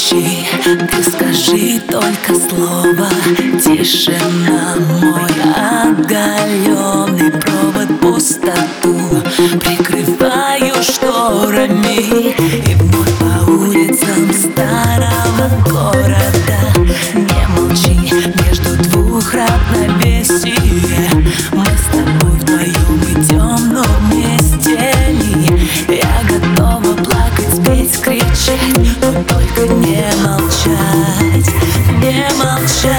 молчи, ты скажи только слово. Тишина, мой оголенный провод, пустоту прикрываю шторами. И вновь по улицам старого города. Не молчи, между двух равновесий мы с тобой вдвоем идем, но вместе ли? Я готова плакать, петь, кричать, но только не молчать, не молчать.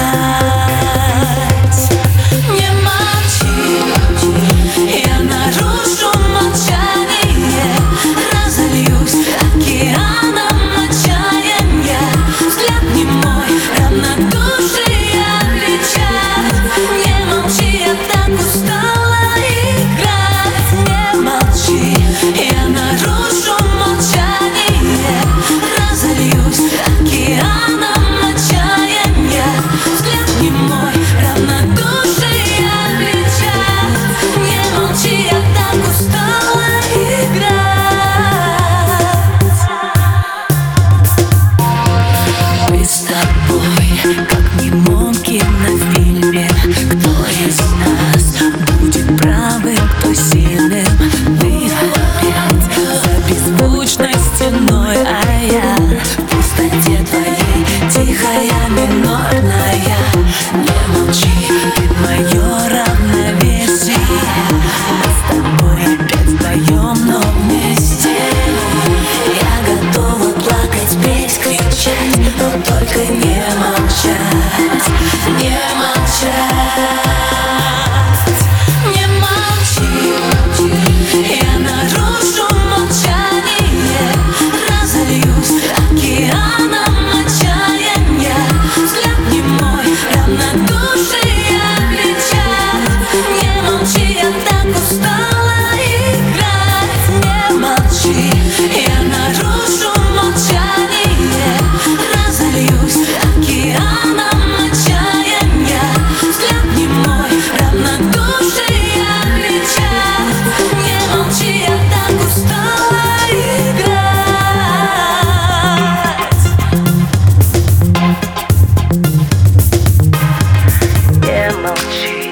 Не молчи, я нарушу молчание, разольюсь океаном отчаяния. Взгляд не мой, равнодушие кричат. Не молчи, я так устала играть. Не молчи, я нарушу молчание, разольюсь океаном отчаяния. Взгляд не мой, равнодушие кричат. Не молчи, я так устала играть. Мы с тобой, как в немом кинофильме. Кто из нас будет правым, кто сильным? Ты опять за беззвучной стеной, а я в пустоте твоей, тихая, минорная. Не молчи, ты мое равновесие. Мы с тобой опять вдвоем, но вместе. Я готова плакать, петь, кричать, но только не молчать, не молчать. Не молчи, я нарушу молчание, разольюсь океаном отчаяния. Взгляд не мой, равнодушие кричат. Не молчи, я так устала играть. Не молчи, я нарушу молчание, разольюсь океаном отчаяния. Взгляд не мой, равнодушие кричат. Не молчи, я так устала играть. Не молчи,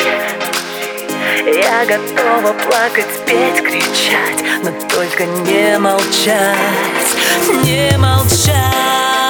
я готова плакать, петь, кричать, но только не молчать, не молчать.